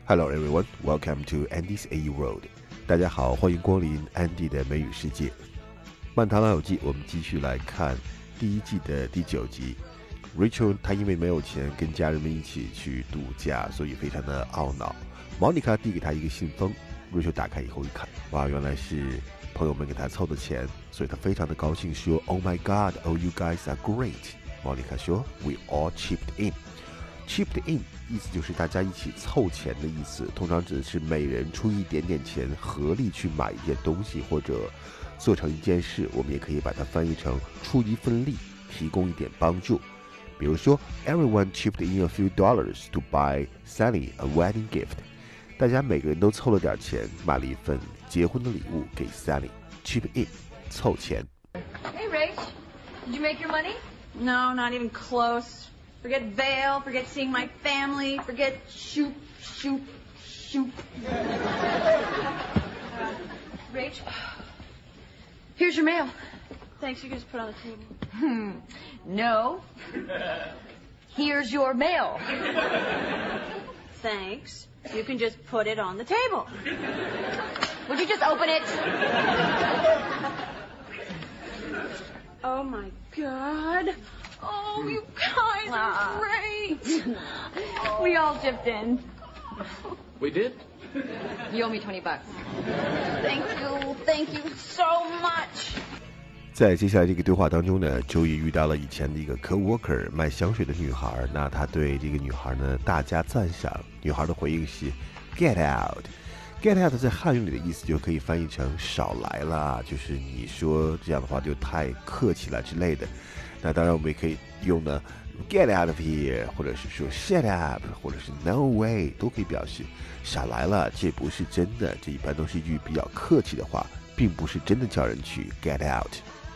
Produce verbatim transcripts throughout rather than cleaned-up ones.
Hello everyone, welcome to Andy's A U World. 大家好，欢迎光临 Andy 的美语世界。漫谈老友记，我们继续来看第一季的第九集。Rachel 她因为没有钱跟家人们一起去度假，所以非常的懊恼。Monica 递给她一个信封 ，Rachel 打开以后一看，哇，原来是朋友们给她凑的钱，所以她非常的高兴，说 ：“Oh my God, oh you guys are great." Monica 说 ：“We all chipped in." Chipped in 意思就是大家一起凑钱的意思，通常指的是每人出一点点钱，合力去买一件东西或者做成一件事。我们也可以把它翻译成出一份力，提供一点帮助。比如说 ，Everyone chipped in a few dollars to buy Sally a wedding gift。大家每个人都凑了点钱，买了一份结婚的礼物给 Sally。Chip in， 凑钱。 Hey Rach, did you make your money? No, not even close.Forget Vail, forget seeing my family, forget shoot, shoot, shoot. Uh, Rach, here's your mail. Thanks, you can just put it on the table. Hmm, no. Here's your mail. Thanks, you can just put it on the table. Would you just open it? Oh my God.Oh, you guys are great! We all chipped in. We did? You owe me twenty bucks. Thank you, thank you so much. 在接下来这个对话当中呢，周易遇到了以前的一个 co-worker 卖香水的女孩，那他对这个女孩呢大加赞赏。女孩的回应是 Get out。Get out 在汉语里的意思就可以翻译成少来啦，就是你说这样的话就太客气了之类的。那当然我们也可以用呢 get out of here， 或者是说 shut up， 或者是 no way， 都可以表示少来了，这不是真的。这一般都是一句比较客气的话，并不是真的叫人去 get out。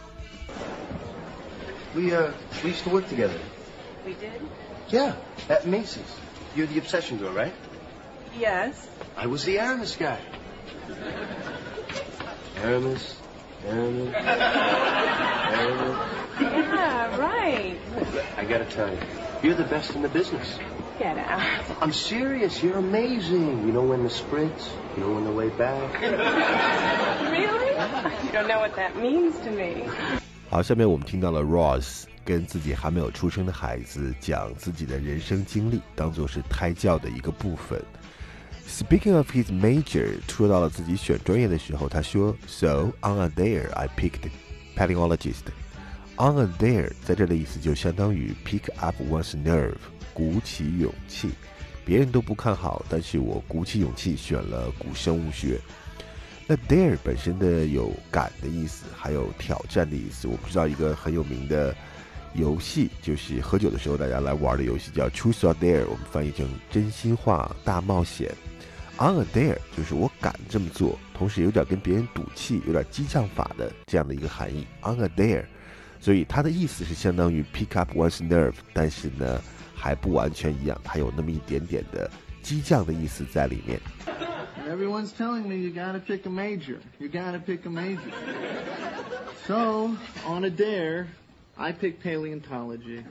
We, uh, we used to work together. We did? Yeah, at Macy's. You're the obsession girl, right? Yes. I was the Aramis guy. Aramis, Aramis, Aramis.Yeah, right. I gotta tell you, you're the best in the business. Get out. I'm serious, you're amazing. You know when to sprint, you know when to way back. Really? You don't know what that means to me. 好，下面我们听到了 Ross 跟自己还没有出生的孩子讲自己的人生经历，当作是胎教的一个部分。Speaking of his major， 说到了自己选专业的时候，他说 So on a dare I picked paleologist。On a dare 在这里意思就相当于 pick up one's nerve， 鼓起勇气。别人都不看好，但是我鼓起勇气选了古生物学。那 dare 本身的有敢的意思，还有挑战的意思。我们知道一个很有名的游戏，就是喝酒的时候大家来玩的游戏叫 Truth or Dare， 我们翻译成真心话大冒险。On a dare 就是我敢这么做，同时有点跟别人赌气，有点激将法的这样的一个含义。On a dare， 所以它的意思是相当于 pick up one's nerve， 但是呢还不完全一样，还有那么一点点的激将的意思在里面。 Everyone's telling me you gotta pick a major. You gotta pick a major. So, on a dare, I picked paleontology.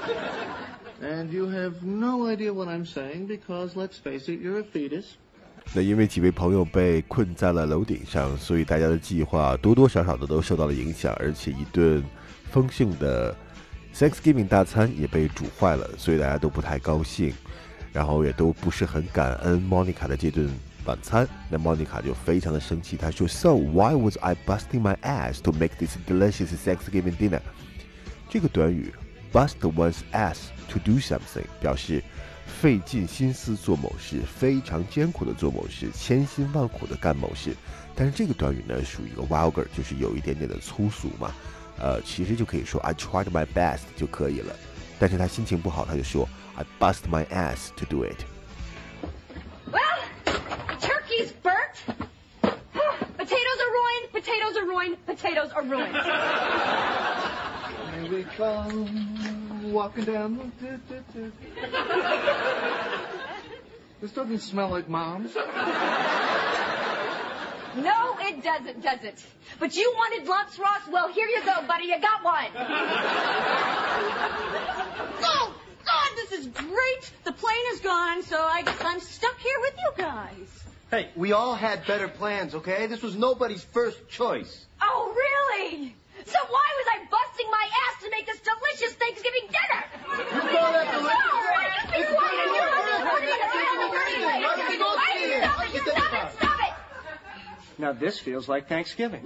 And you have no idea what I'm saying because, let's face it, you're a fetus. 那因为几位朋友被困在了楼顶上，所以大家的计划多多少少的都受到了影响，而且一顿丰盛的 Thanksgiving 大餐也被煮坏了，所以大家都不太高兴，然后也都不是很感恩 Monica 的这顿晚餐。那 Monica 就非常的生气，她说 So why was I busting my ass to make this delicious Thanksgiving dinner？ 这个短语 bust one's ass to do something 表示费尽心思做某事，非常艰苦的做某事，千辛万苦的干某事。但是这个短语呢属于一个 vulgar， 就是有一点点的粗俗嘛，呃，其实就可以说 I tried my best 就可以了。但是他心情不好，他就说 I bust my ass to do it。Well, turkey's burnt. Potatoes are ruined. Potatoes are ruined. Potatoes are ruined. Here we come, walking down. This doesn't smell like Mom's. No, it doesn't, does it? But you wanted lumps, Ross? Well, here you go, buddy. You got one. Oh, God, this is is great. The plane is gone, so I guess I'm stuck here with you guys. Hey, we all had better plans, okay? This was nobody's first choice. Oh, really? So why was I busting my ass to make this delicious Thanksgiving dinner? You call that delicious? Stop it! Now this feels like Thanksgiving.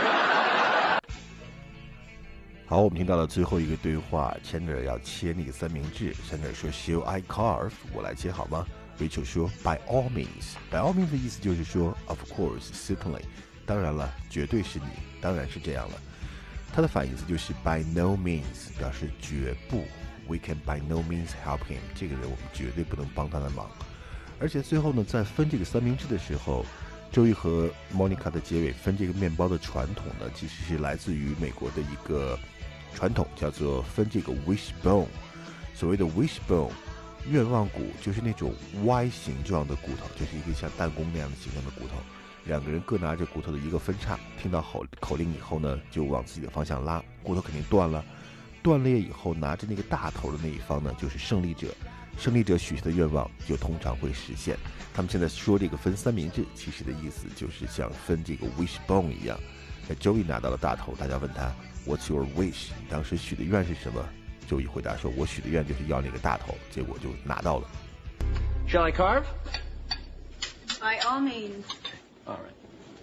好，我们听到了最后一个对话 ，Chandler 要切那个三明治 ，Chandler 说 ，Shall I carve？ 我来切好吗 ？Rachel 说 ，By all means。By all means 的意思就是说 ，Of course，certainly， 当然了，绝对是你，当然是这样了。它的反义词就是 By no means， 表示绝不。We can by no means help him。这个人我们绝对不能帮他的忙。而且最后呢，在分这个三明治的时候。周一和 Monica 的结尾分这个面包的传统呢，其实是来自于美国的一个传统，叫做分这个 wishbone。所谓的 wishbone， 愿望骨就是那种 Y 形状的骨头，就是一个像弹弓那样的形状的骨头。两个人各拿着骨头的一个分叉，听到口口令以后呢，就往自己的方向拉，骨头肯定断了。断裂以后，拿着那个大头的那一方呢，就是胜利者。胜利者许下的愿望就通常会实现。他们现在说这个分三明治，其实的意思就是像分这个 wishbone 一样。那周一拿到了大头，大家问他 What's your wish？ 你当时许的愿是什么？周一回答说：我许的愿就是要那个大头，结果就拿到了。 Shall I carve? By all means. All right.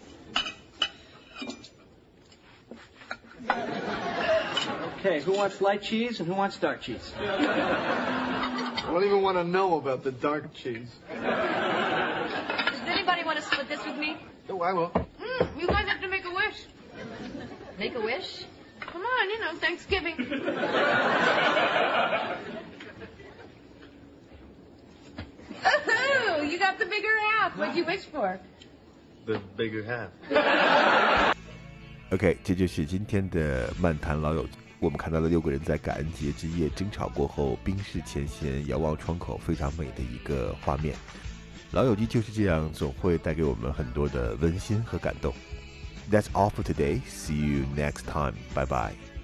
Okay, who wants light cheese and who wants dark cheese? I don't even want to know about the dark cheese. Does anybody want to split this with me? Oh, I will. Mm, you guys have to make a wish. Make a wish? Come on, you know, Thanksgiving. Oh, you got the bigger half. What'd you wish for? The bigger half. OK， 这就是今天的漫谈老友记。我们看到了六个人在感恩节之夜争吵过后，冰释前嫌，遥望窗口，非常美的一个画面。老友记就是这样，总会带给我们很多的温馨和感动。That's all for today. See you next time. Bye bye.